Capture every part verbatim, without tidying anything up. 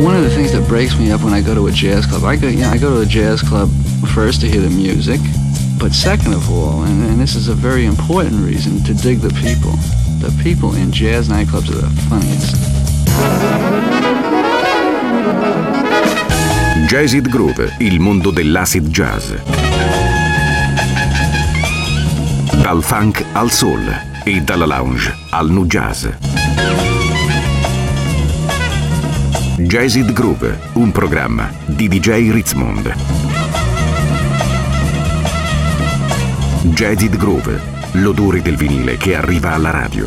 one of the things that breaks me up when I go to a jazz club, I go, you know, I go to a jazz club first to hear the music, but second of all, and, and this is a very important reason, to dig the people. The people in jazz nightclubs are the funniest. Jazzid Groove, il mondo dell'acid jazz. Dal funk al soul e dalla lounge al nu jazz. Jazzid Groove, un programma di D J Ritzmond. Jazzid Groove, l'odore del vinile che arriva alla radio.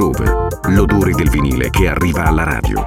Groove, l'odore del vinile che arriva alla radio.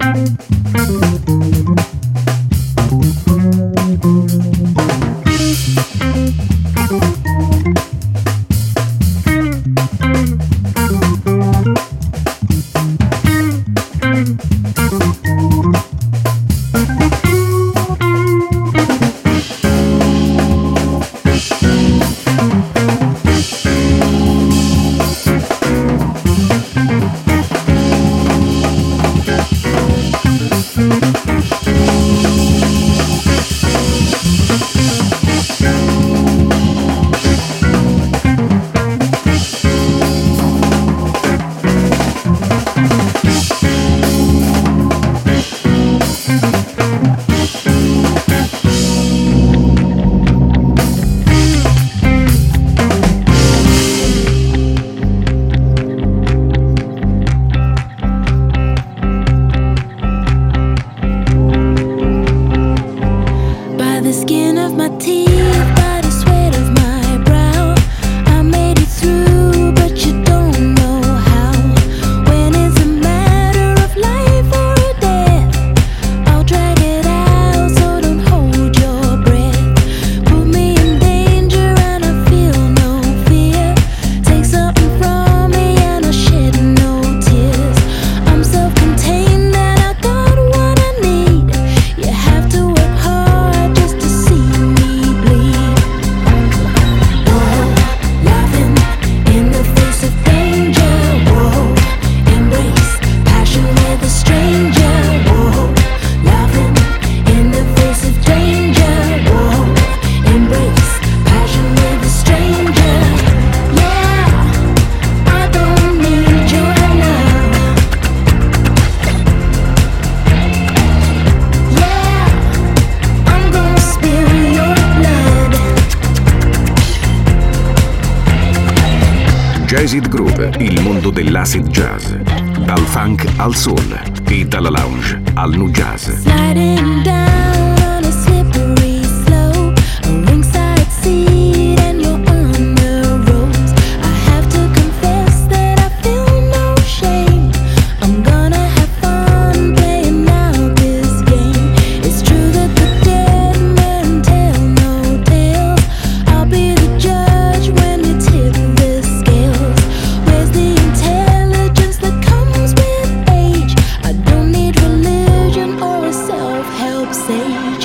Jazzid Groove, il mondo dell'acid jazz. Dal funk al soul e dalla lounge al nu jazz. Sliding down on a slippery slope, a ringside seat and you're on the ropes. I have to confess that I feel no shame. I'm gonna have fun playing out this game. It's true that the dead men tell no tales. I'll be the judge when you tip the scales. Where's the intelligence that comes with age? I don't need religion or a self-help sage.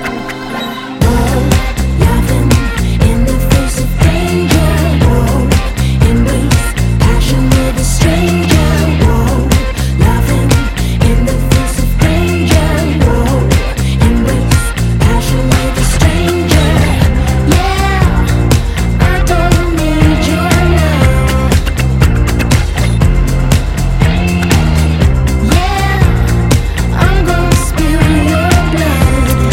Whoa, laughing in the face of danger. Whoa, embrace passion with a stranger. Whoa, laughing in the face of danger. Whoa, embrace passion with a stranger. Yeah, I don't need your love. Yeah, I'm gonna spill your blood.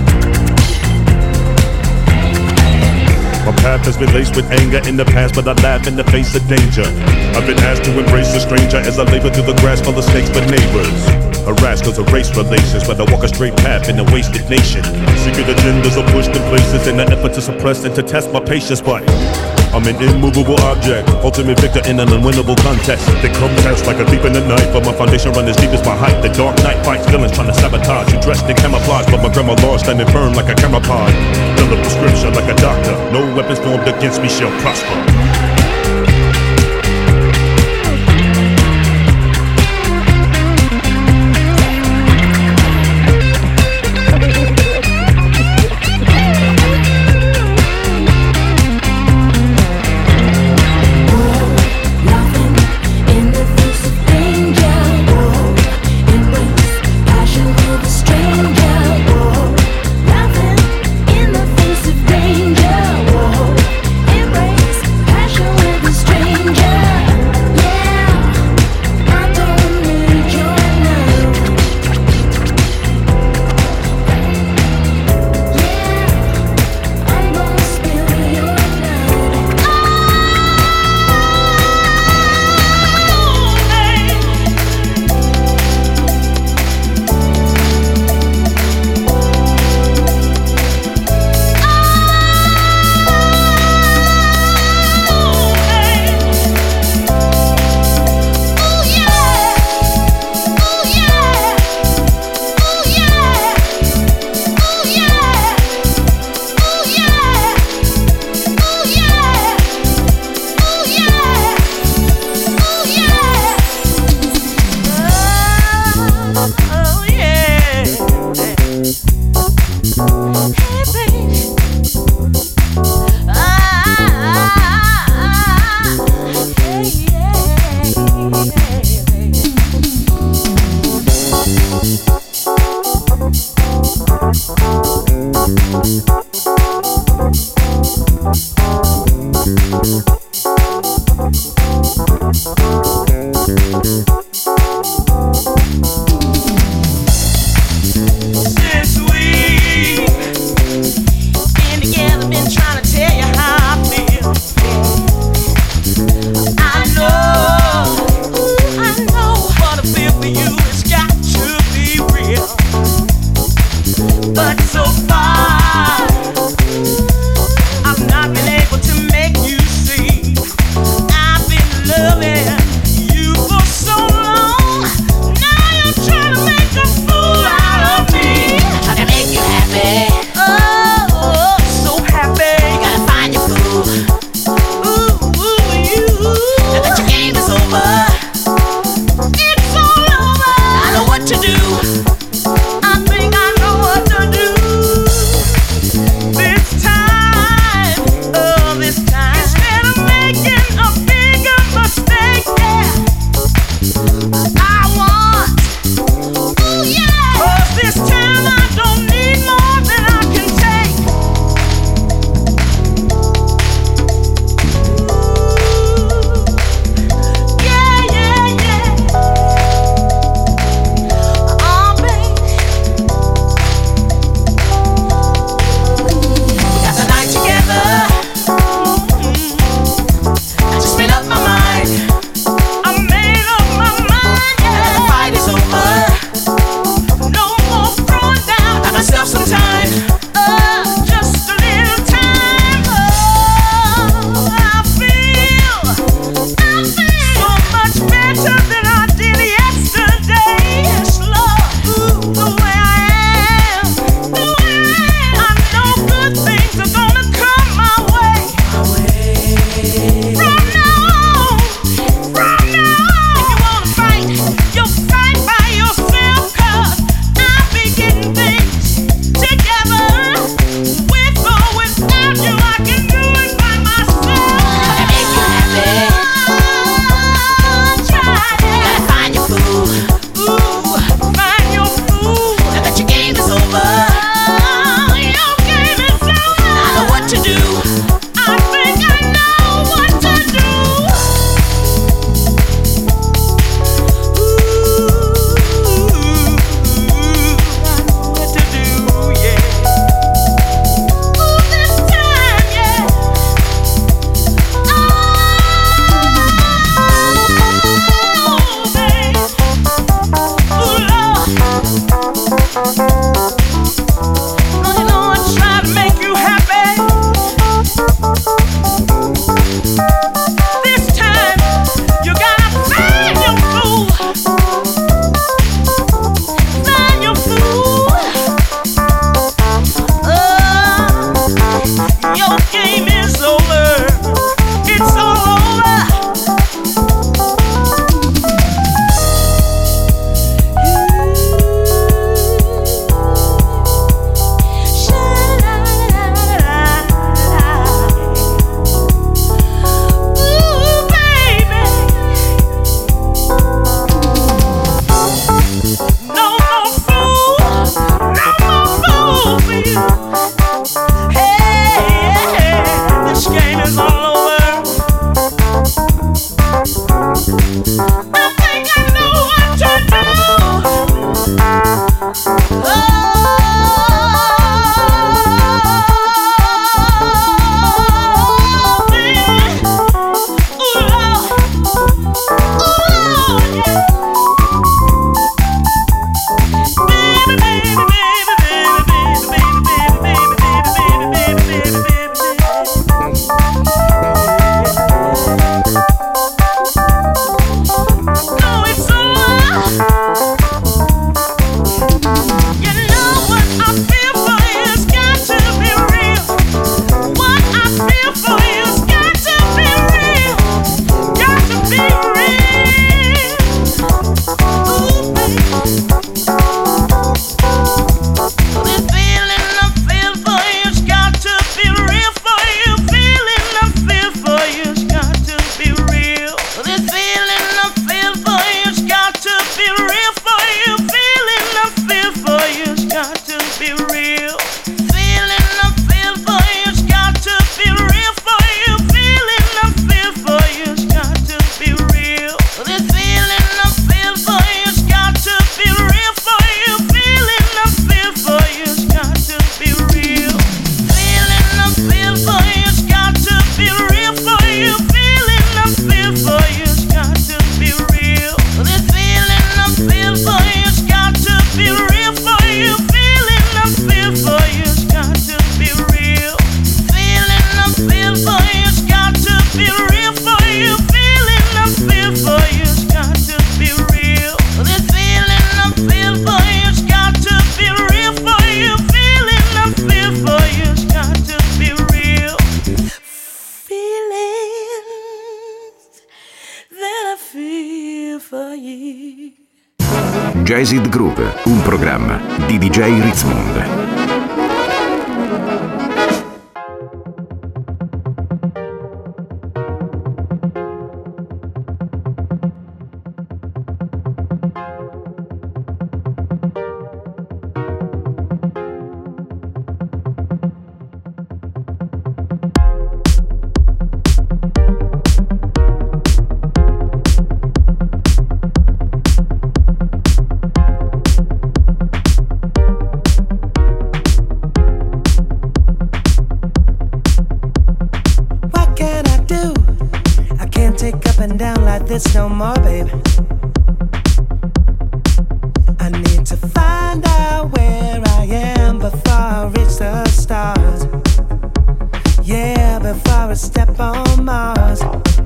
My path has been laced with anger in the past, but I laugh in the face of danger. I've been asked to embrace a stranger as I labor through the grass full of snakes but neighbors. Harassed cause of race relations, but I walk a straight path in a wasted nation. Secret agendas are pushed in places in an effort to suppress and to test my patience, but I'm an immovable object, ultimate victor in an unwinnable contest. They come test like a thief in the night, but my foundation run as deep as my height. The dark night fights villains trying to sabotage. You dressed in camouflage, but my grandma law standing firm like a camera pod. Fill a prescription like a doctor. No weapons formed against me shall prosper. Laughing in the face of danger. Whoa, embrace passion with a stranger. Whoa, laughing in the face of danger. Whoa, embrace passion. I know what I feel for you. It's got to be real. Jazzed Groove, un programma di D J Ritzmond. No more, baby. I need to find out where I am before I reach the stars. Yeah, before I step on Mars.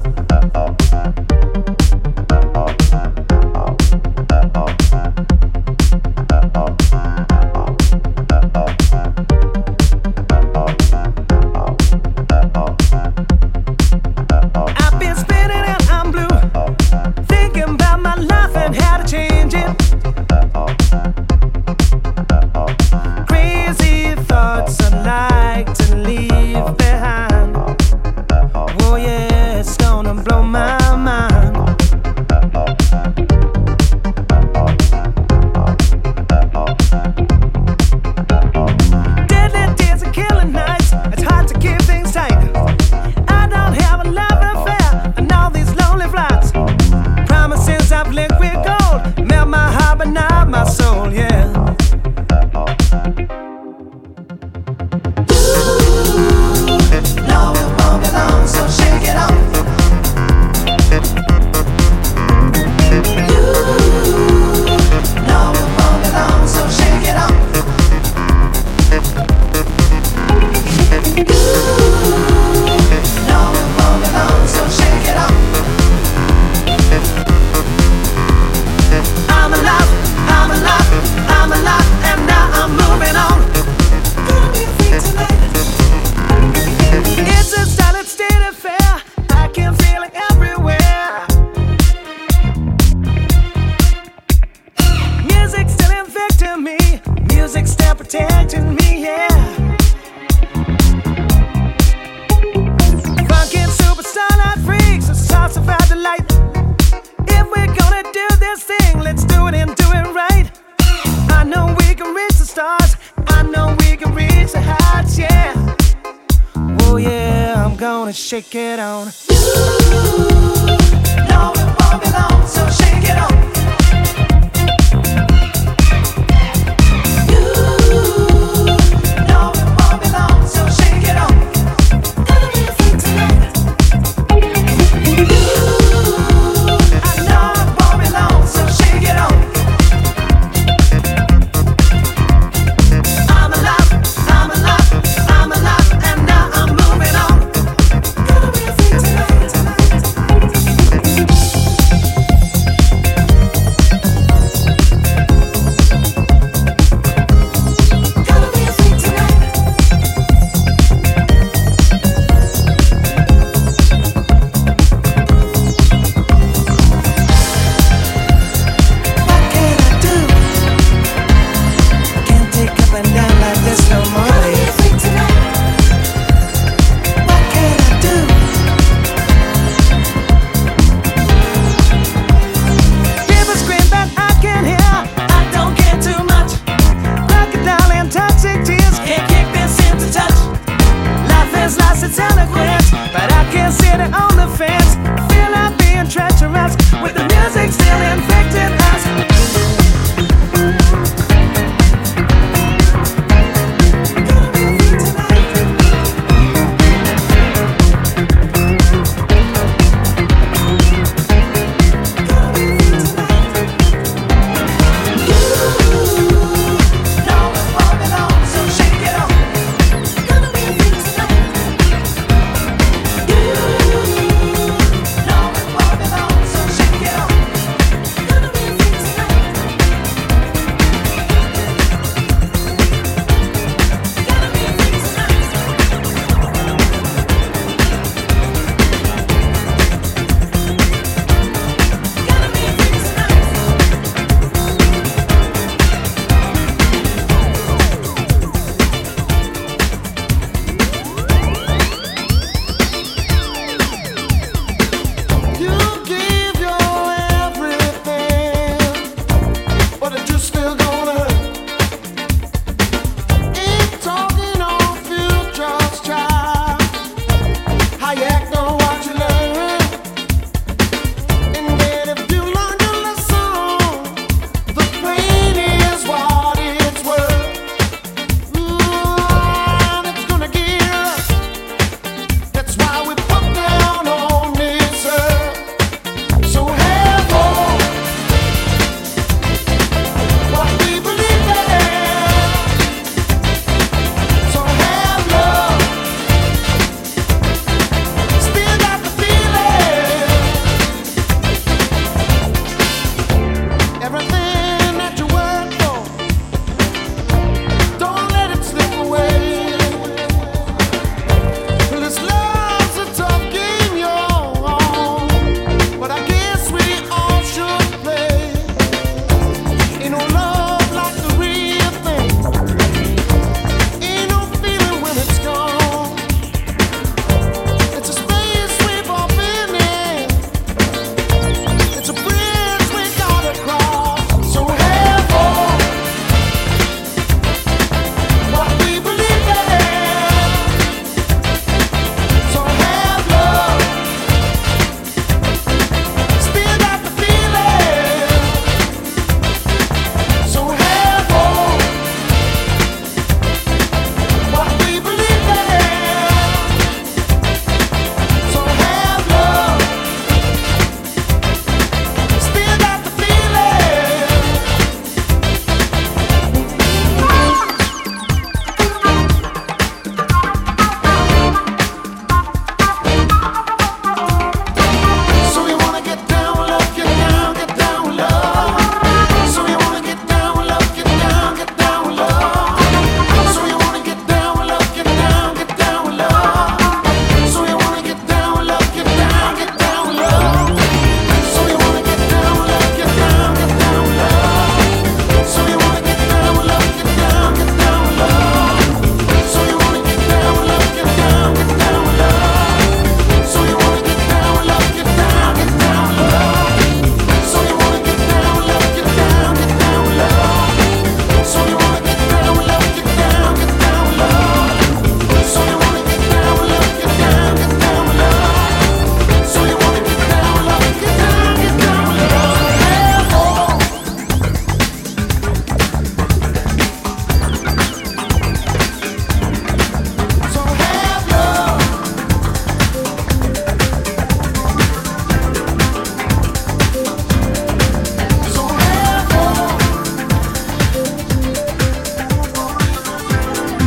Shake it on. You know it won't be long, so shake it on.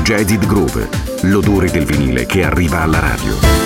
Jazzed Groove, l'odore del vinile che arriva alla radio.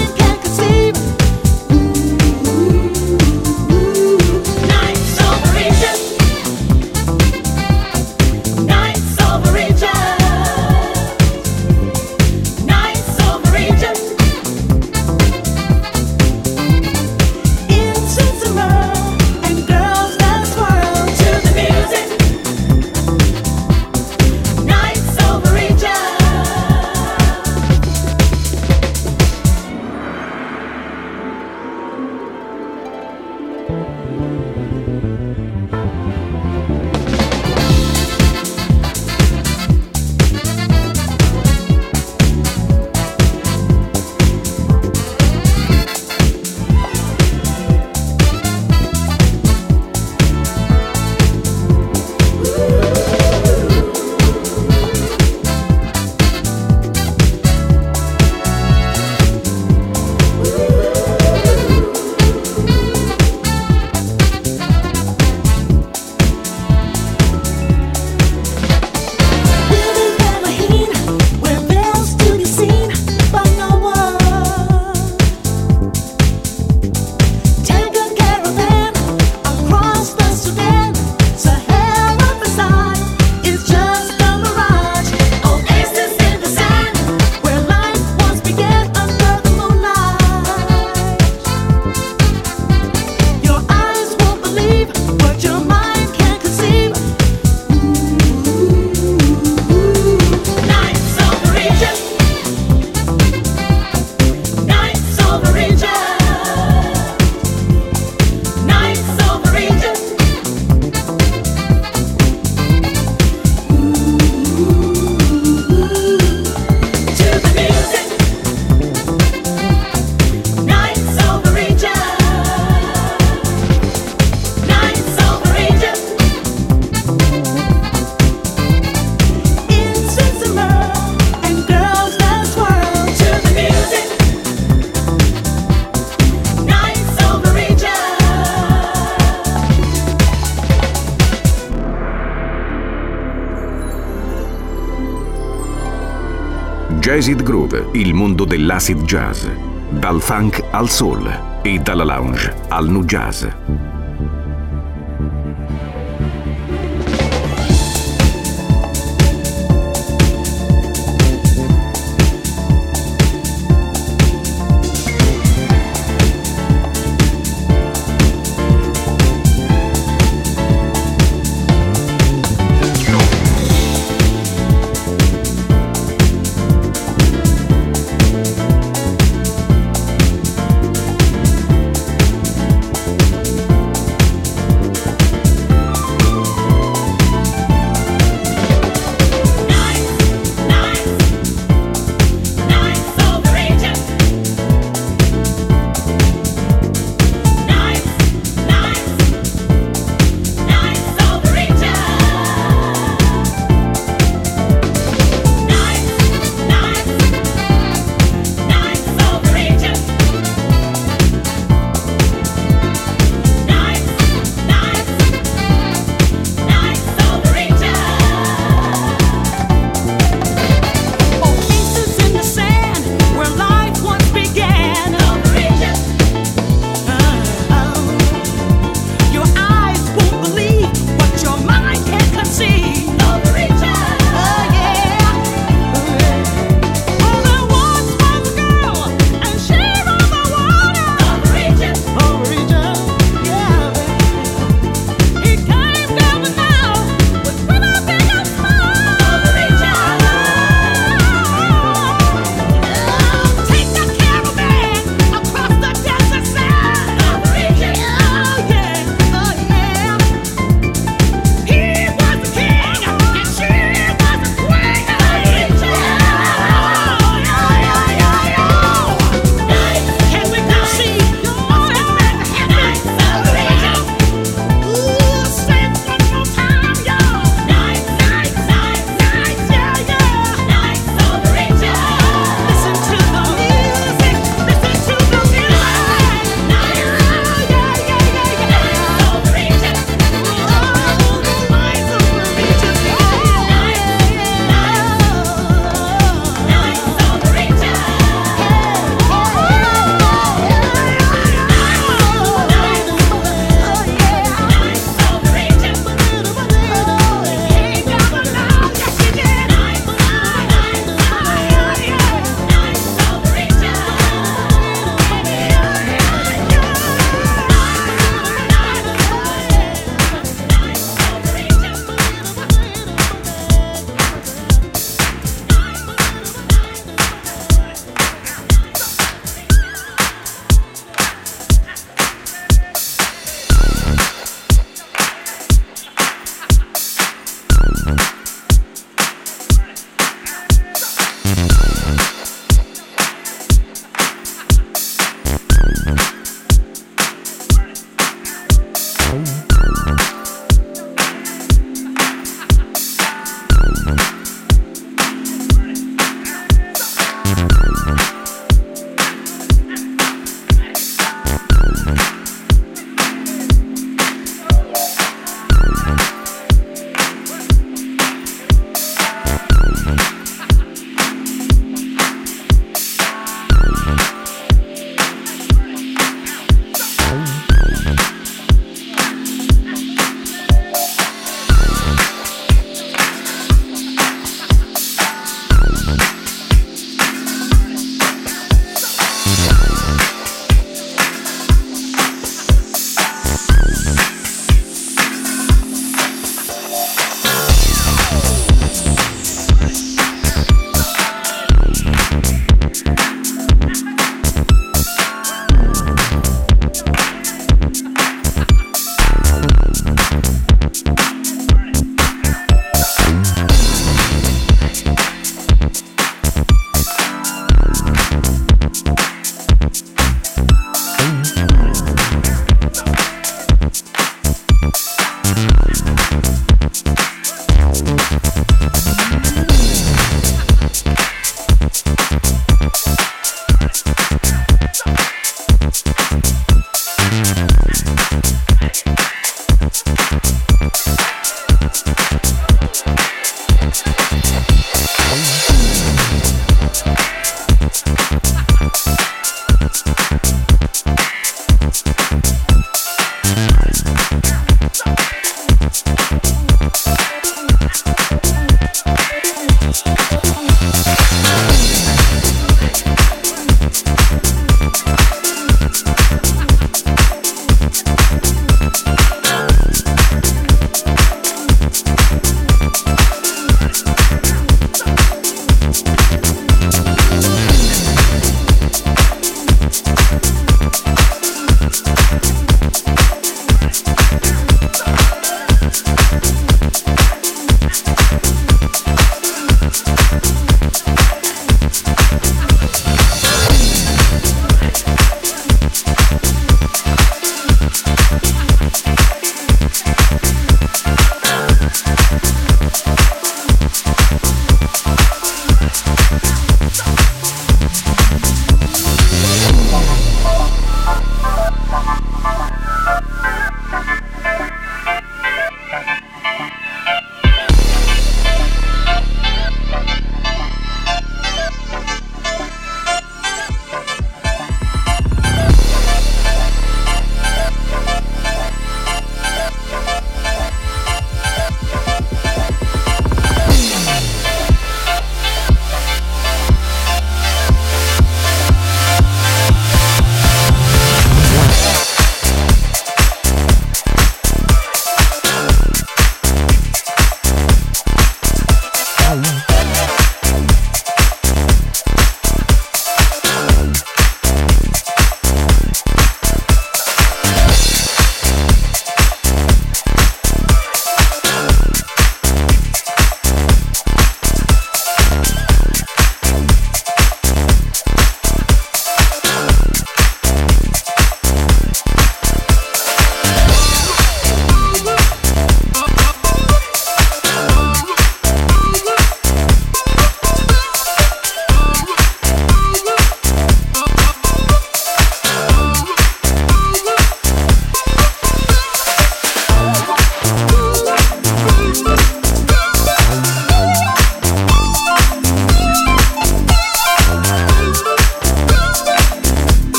Nights over Jazzed Groove, il mondo dell'acid jazz. Dal funk al soul e dalla lounge al nu jazz.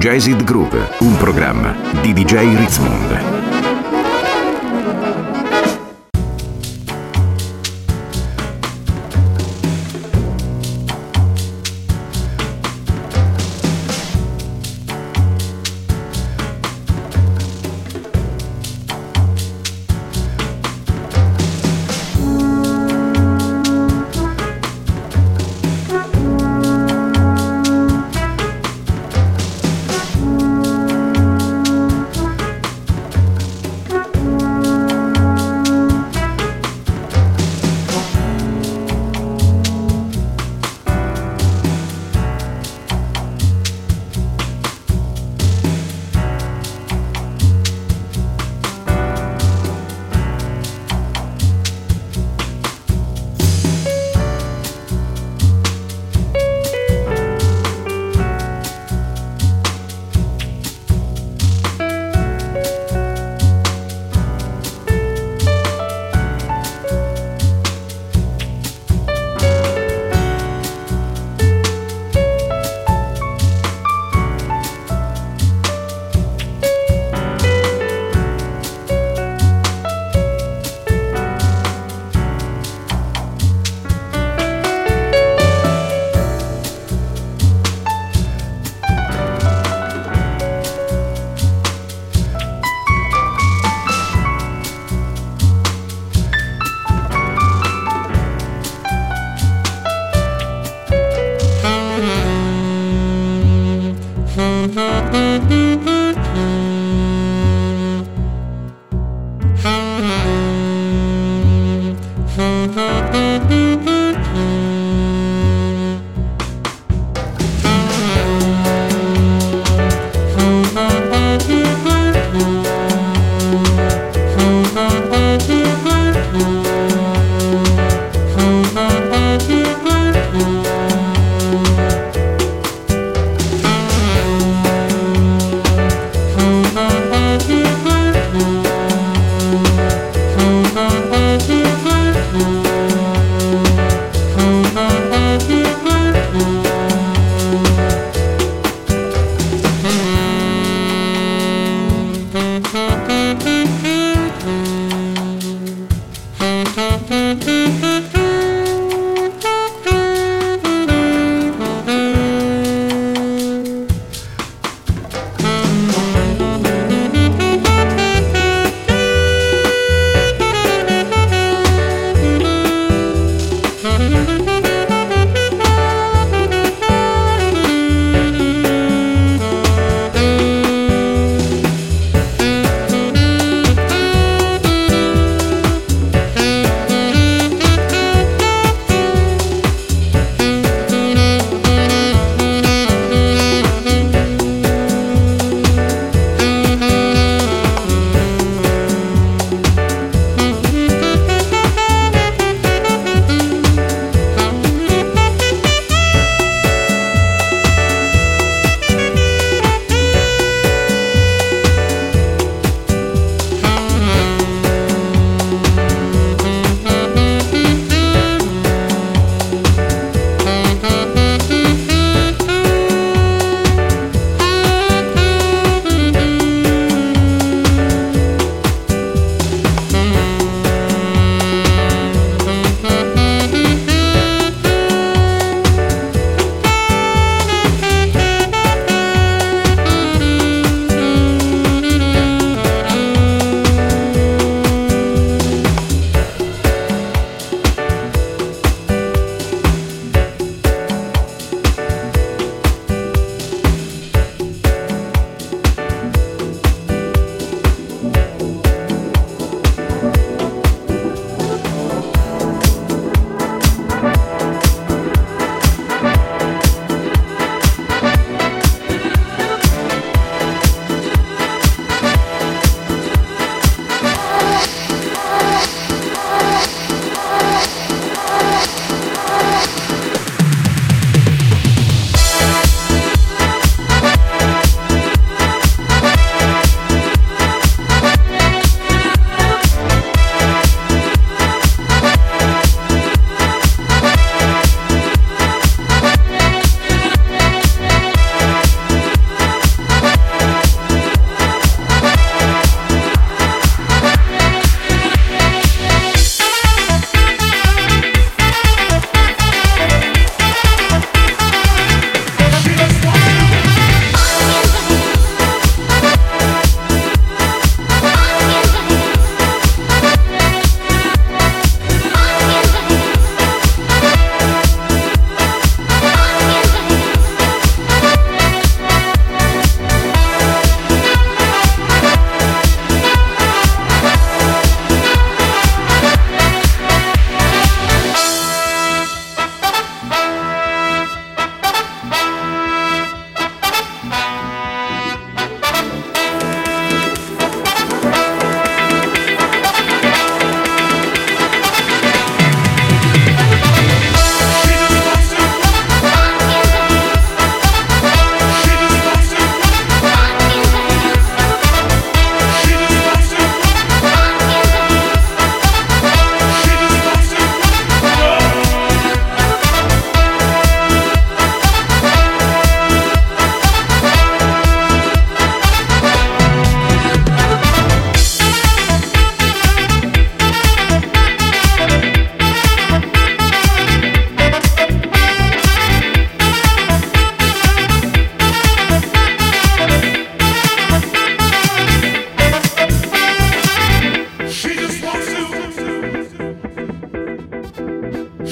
Jazzed Groove, un programma di D J Ritzmond.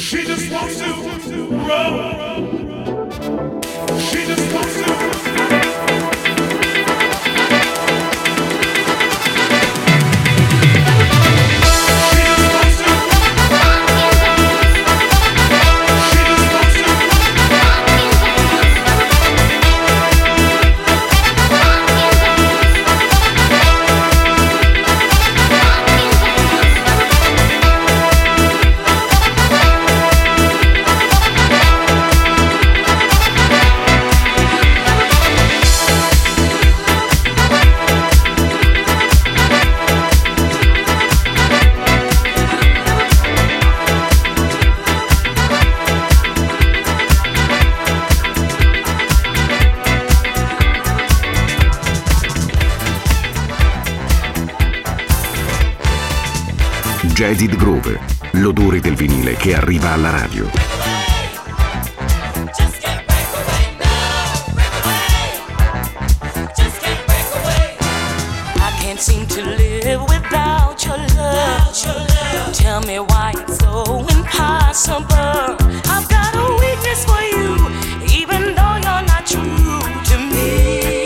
She just wants to roll. She just wants to. Jazzed Groove, l'odore del vinile che arriva alla radio. I can't seem to live without your love. Tell me why it's so impossible. I've got a weakness for you, even though you're not true to me.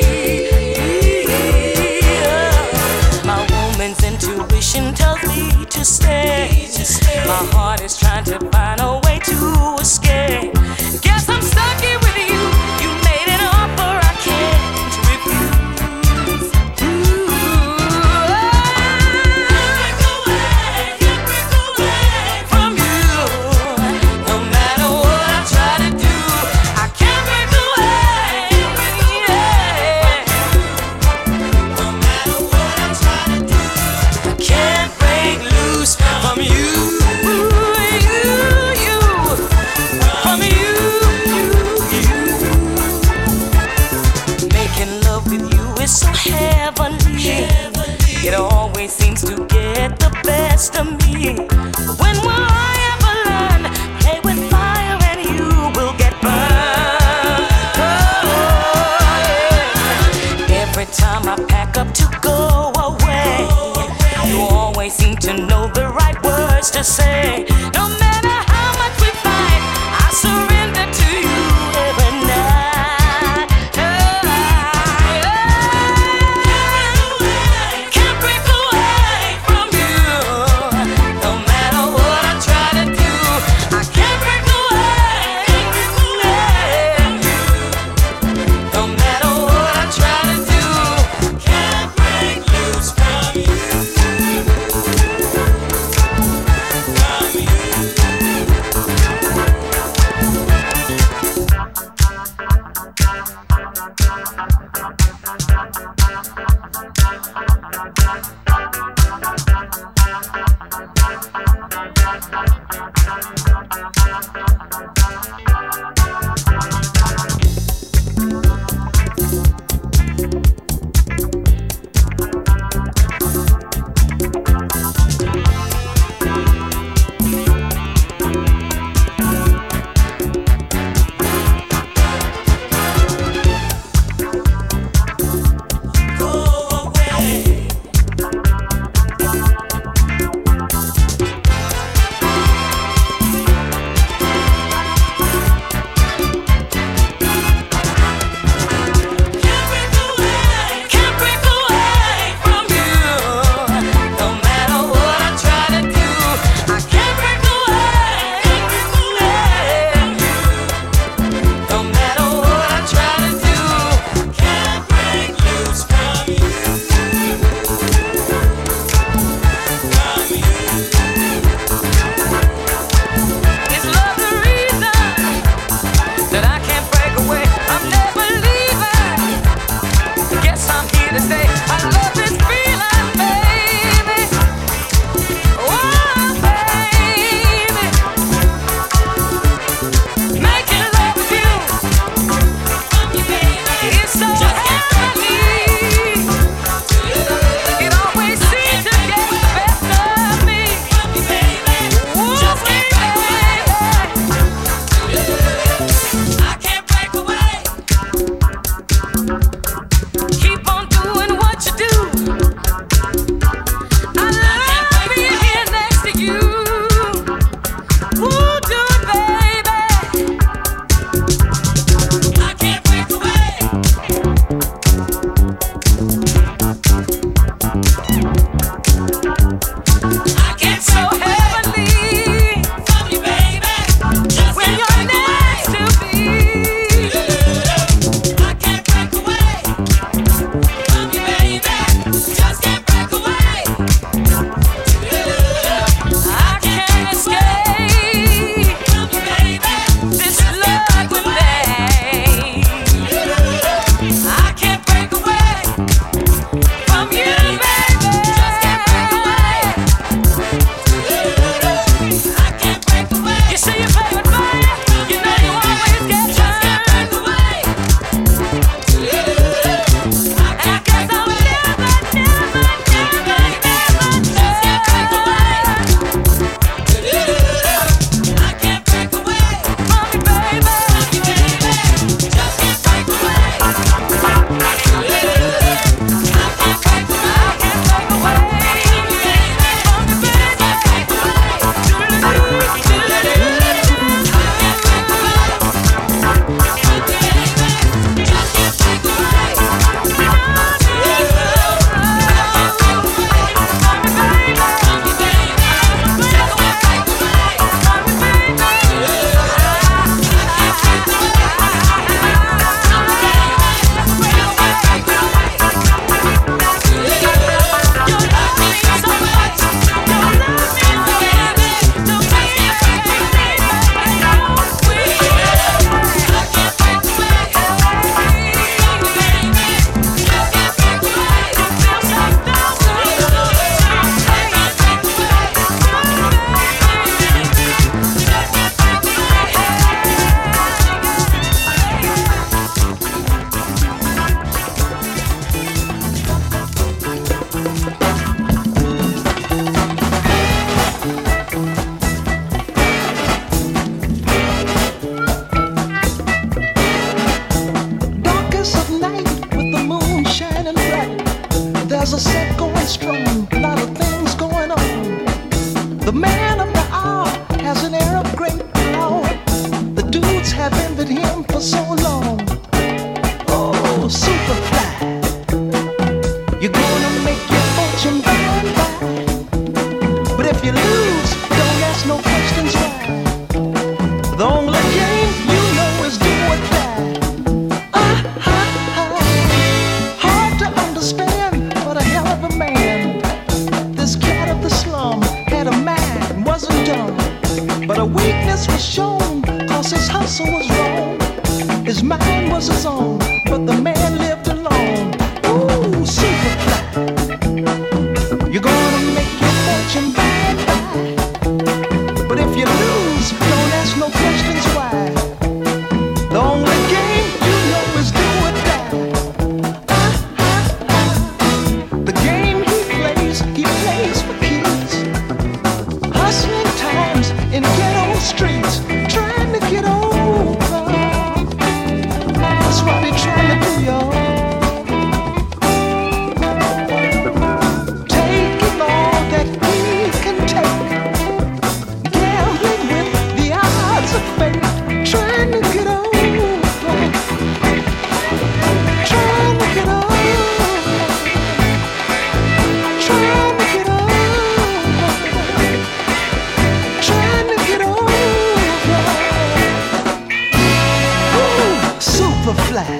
My woman's intuition tells me to stay. My heart is trying to find a way to escape. Guess I'm stuck here with you. You made an offer I can't refuse. Ooh. Can't break away, can't break away from you. No matter what I try to do, I can't break away. Yeah. No matter what I try to do, I can't break loose from you. It's so heavenly. It always seems to get the best of me. When will I ever learn? Play with fire and you will get burned. Oh, yeah. Every time I pack up to go away, you always seem to know the right words to say. No matter how much we fight, I surrender to you every night. done. But a weakness was shown, cause his hustle was wrong. His mind was his own, but the man lived alone. Ooh, super fly. You're gonna make your fortune by and by. But if you lose, don't ask no questions why. The only game you know is do or die. Ah, ah, ah. The game he plays, he plays for keys. Hustling times in ghetto streets, trying to get over. That's what they're trying to do, y'all. Taking all that he can take, gambling with the odds of fate, trying to get over, trying to get over, trying to get over, trying to get over. Ooh, super fly.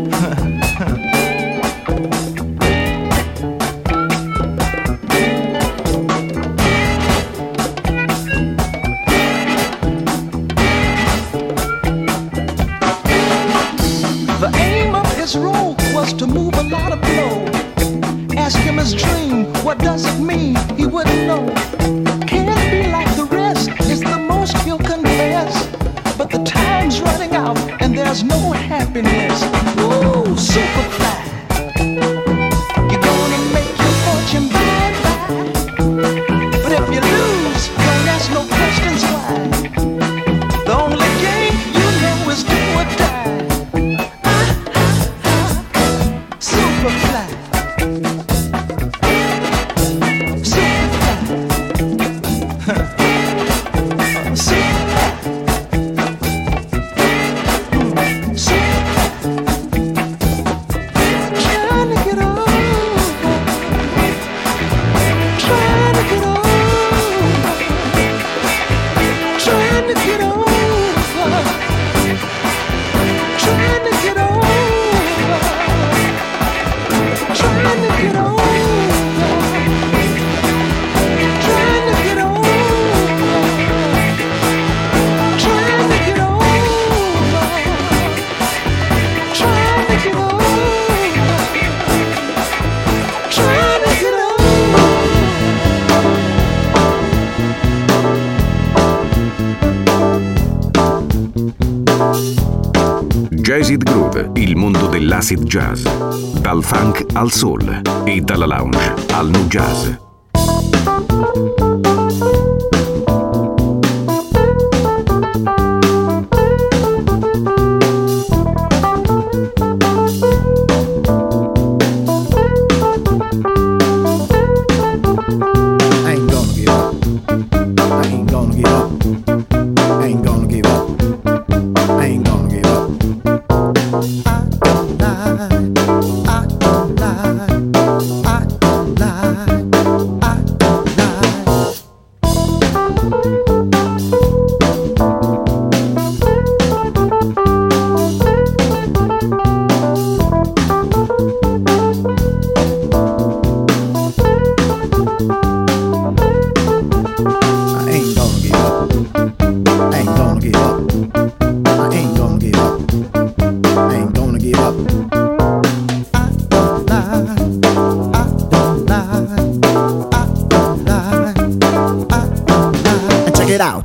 The aim of his role was to move a lot of blow. Ask him his dream, what does it mean? He wouldn't know. Can't be like the rest, is the most he'll confess. But the time's running out and there's no happiness. Ooh, super fly. You're gonna make your fortune by and by. But if you lose, don't ask no questions why. The only game you know is do or die. Super fly. Super fly. Super fly. Super fly. Trying to get over. Trying to get over. Trying to get over. Trying to get over. Trying to get over. Trying to get over. Trying to get over. Trying to get over. Trying to get over. Jazzid Groove, il mondo dell'acid jazz. Dal funk al soul e dalla lounge al nu jazz. I ain't gonna give up. I ain't gonna give up. I ain't gonna give up. I ain't gonna give up. I don't lie. I don't lie. I don't lie. I don't lie. I ain't gonna give up. I ain't gonna give up. I ain't gonna give up. I ain't gonna give up. I don't lie. I don't lie. I don't lie. I don't lie. And check it out.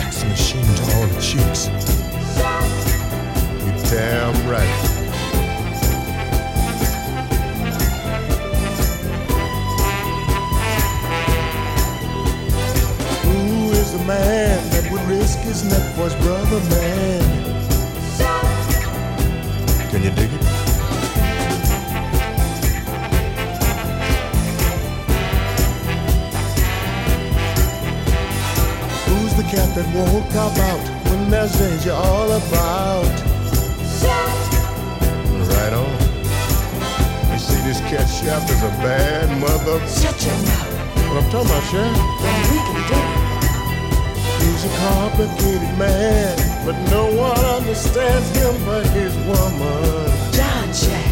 sex machine to all the chicks. You damn right. Who is the man that would risk his neck for his brother, man? Can you dig it? Who's the cat that won't cop out when there's danger all about? Right on. You see, this cat chef is a bad mother. Shut your mouth. What I'm talking about, Chef? Then we can do it. He's a complicated man, but no one understands him but his woman. John Jack.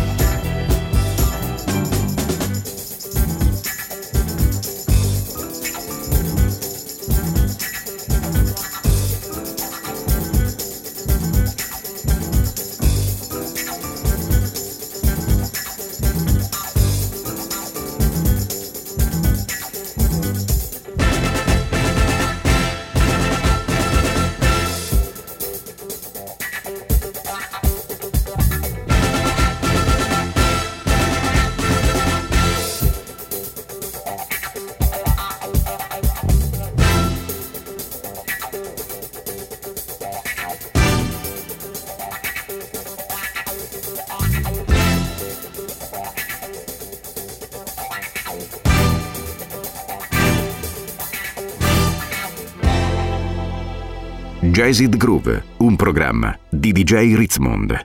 Jazzed Groove, un programma di D J Ritzmond.